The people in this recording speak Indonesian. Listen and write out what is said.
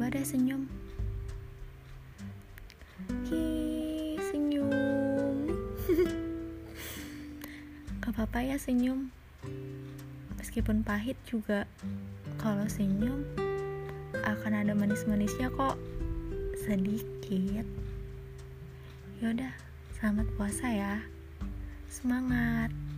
Yaudah senyum. Senyum. Gak apa-apa ya senyum. Meskipun pahit juga, kalau senyum akan ada manis-manisnya kok. Sedikit. Yaudah, selamat puasa ya. Semangat.